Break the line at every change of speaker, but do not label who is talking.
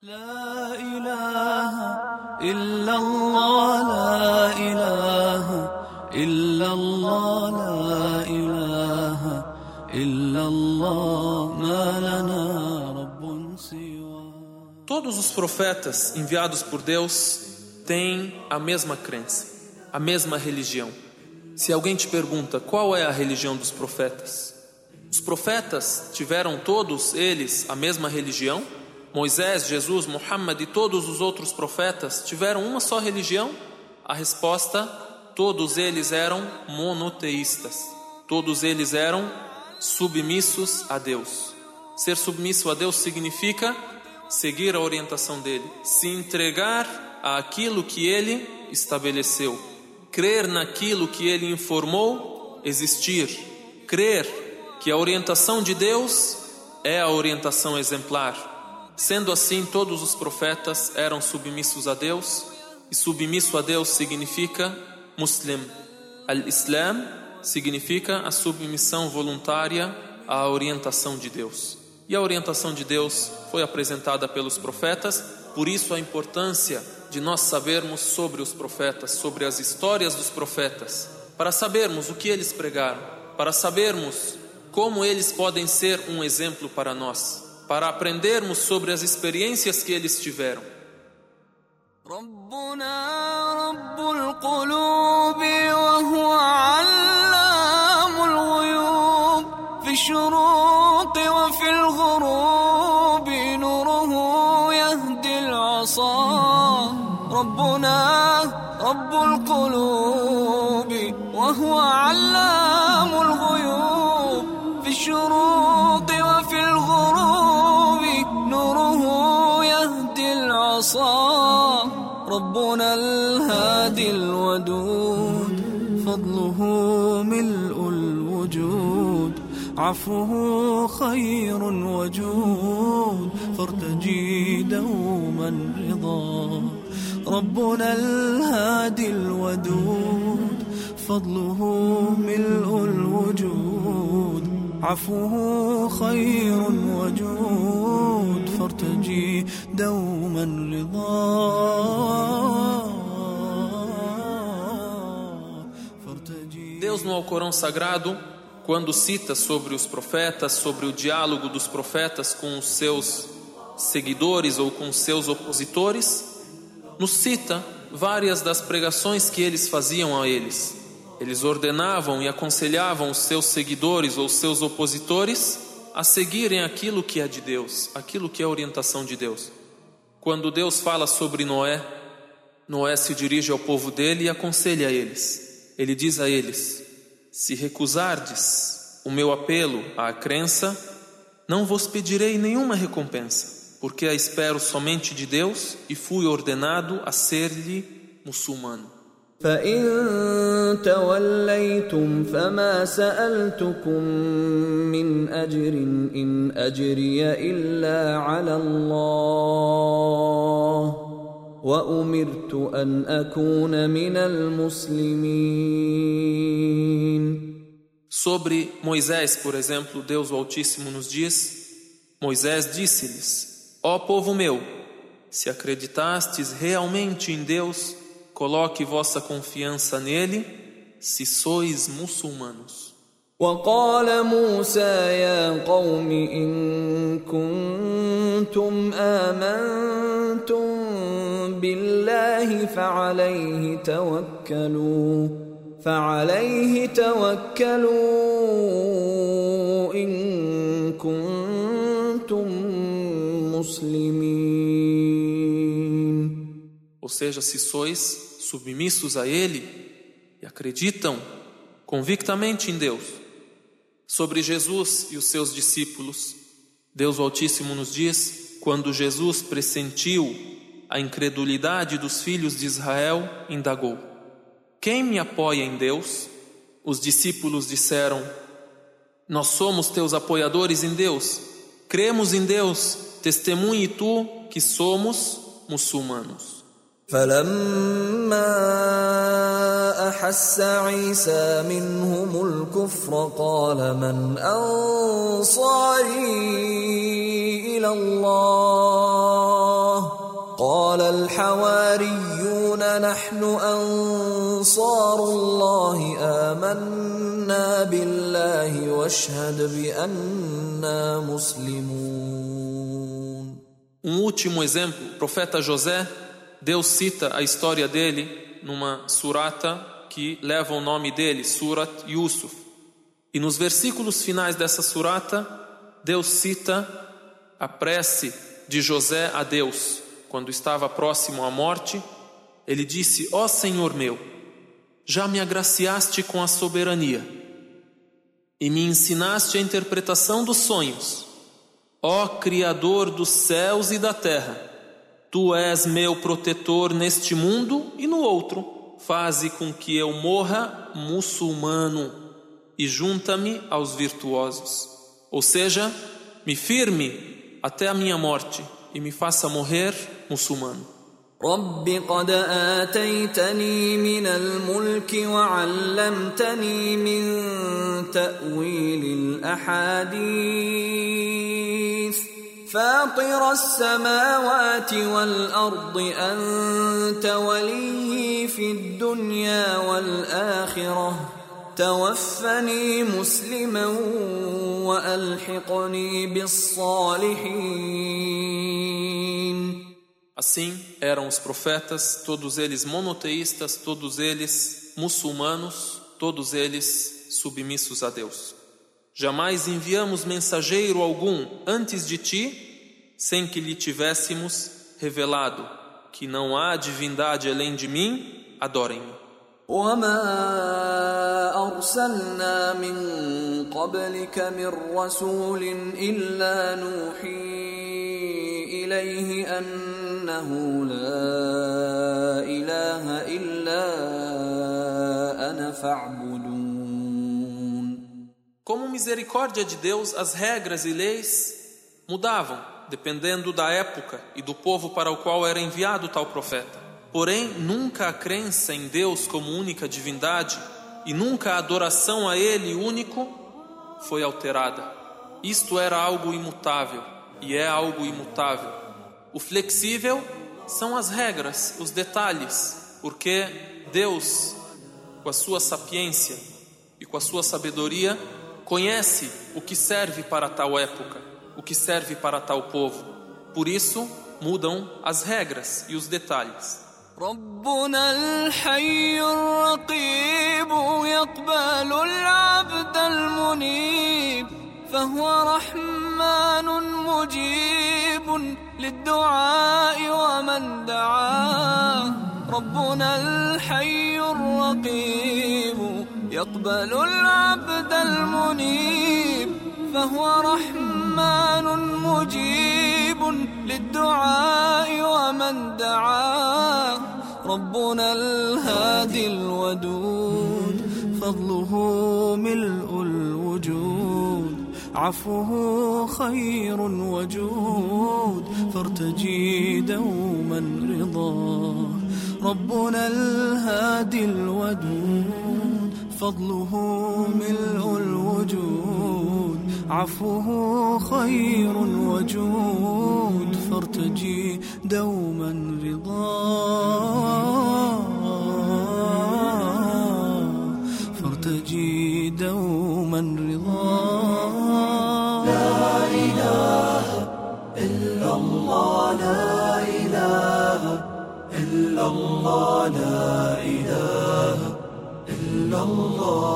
لا إله إلا الله لا إله إلا الله لا إله إلا الله ما لنا رب سوى.
Todos os profetas enviados por Deus têm a mesma crença, a mesma religião. Se alguém te pergunta qual é a religião dos profetas, os profetas tiveram todos eles a mesma religião? Moisés, Jesus, Muhammad e todos os outros profetas tiveram uma só religião? A resposta: todos eles eram monoteístas. Todos eles eram submissos a Deus. Ser submisso a Deus significa seguir a orientação dele, se entregar àquilo que ele estabeleceu, crer naquilo que ele informou existir, crer que a orientação de Deus é a orientação exemplar. Sendo assim, todos os profetas eram submissos a Deus, e submisso a Deus significa Muslim. Al-Islam significa a submissão voluntária à orientação de Deus. E a orientação de Deus foi apresentada pelos profetas, por isso a importância de nós sabermos sobre os profetas, sobre as histórias dos profetas, para sabermos o que eles pregaram, para sabermos como eles podem ser um exemplo para nós, para aprendermos sobre as experiências que eles tiveram.
ربنا رب القلوب وهو علام الغيوب في الشروق وفي الغروب نوره يهدي العصا ربنا رب القلوب وهو علام الغيوب في الشروق وفي الغروب نوره يهدي العصا ربنا الهادي الودود فضله ملء الوجود عفوه خير وجود فارتجي دوما رضا ربنا الهادي الودود فضله ملء الوجود عفوه خير وجود فارتجي دوما رضا.
Deus no Alcorão Sagrado, quando cita sobre os profetas, sobre o diálogo dos profetas com os seus seguidores ou com os seus opositores, nos cita várias das pregações que eles faziam a eles. Eles ordenavam e aconselhavam os seus seguidores ou os seus opositores a seguirem aquilo que é de Deus, aquilo que é a orientação de Deus. Quando Deus fala sobre Noé, Noé se dirige ao povo dele e aconselha a eles. Ele diz a eles: se recusardes o meu apelo à crença, não vos pedirei nenhuma recompensa, porque a espero somente de Deus e fui ordenado a ser-lhe muçulmano.
فإن توليتم فما سألتكم من أجر إن أجري إلا على الله وأمرت أن أكون من المسلمين.
Sobre Moisés, por exemplo, Deus o Altíssimo nos diz: Moisés disse-lhes: ó povo meu, se acreditastes realmente em Deus, coloque vossa confiança nele, se sois muçulmanos.
وقال موسى يا قوم إن كنتم آمنتم بالله فعليه توكلوا إن كنتم مسلمين.
Ou seja, se sois submissos a Ele e acreditam convictamente em Deus. Sobre Jesus e os seus discípulos, Deus Altíssimo nos diz: quando Jesus pressentiu a incredulidade dos filhos de Israel, indagou: quem me apoia em Deus? Os discípulos disseram: nós somos teus apoiadores em Deus, cremos em Deus, testemunhe tu que somos muçulmanos.
فلما أحس عيسى منهم الكفر قال من أنصاري إلى الله قال الحواريون نحن أنصار الله آمنا بالله واشهد بأننا مسلمون.
Último exemplo, o profeta José, Deus cita a história dele numa surata que leva o nome dele, Surat Yusuf. E nos versículos finais dessa surata, Deus cita a prece de José a Deus. Quando estava próximo à morte, ele disse: ó Senhor meu, já me agraciaste com a soberania e me ensinaste a interpretação dos sonhos. Ó Criador dos céus e da terra, Tu és meu protetor neste mundo e no outro. Faze com que eu morra muçulmano e junta-me aos virtuosos. Ou seja, me firme até a minha morte e me faça morrer muçulmano.
رب قد آتيتني من الملك وعلمتني من تأويل الأحاديث فاطر السماوات والأرض أنت ولي في الدنيا والآخرة توفني مسلما وألحقني بالصالحين.
Assim eram os profetas, todos eles monoteístas, todos eles muçulmanos, todos eles submissos a Deus. Jamais enviamos mensageiro algum antes de ti, sem que lhe tivéssemos revelado que não há divindade além de mim, adorem-me.
وما أرسلنا من قبلك من رسول إلا نوحي إليه أنه لا إله إلا أنا فاعبدون.
Como misericórdia de Deus, as regras e leis mudavam, dependendo da época e do povo para o qual era enviado tal profeta. Porém, nunca a crença em Deus como única divindade e nunca a adoração a Ele único foi alterada. Isto era algo imutável e é algo imutável. O flexível são as regras, os detalhes, porque Deus, com a sua sapiência e com a sua sabedoria, conhece o que serve para tal época, o que serve para tal povo. Por isso, mudam as regras e os detalhes.
ربنا الحي الرقيب يقبل العبد المنيب فهو رحمن مجيب للدعاء ومن دعاه. ربنا الحي الرقيب يقبل العبد المنيب فهو رحمن مجيب للدعاء ومن دعاه. ربنا الهادي الودود فضله ملء الوجود عفوه خير وجود فارتجي دوما رضاه. ربنا الهادي الودود فضله ملء الوجود عفوه خير وجود فارتجي دوما رضاه. فارتجي دوما رضاه. لا إله إلا الله لا إله إلا الله لا إله إلا الله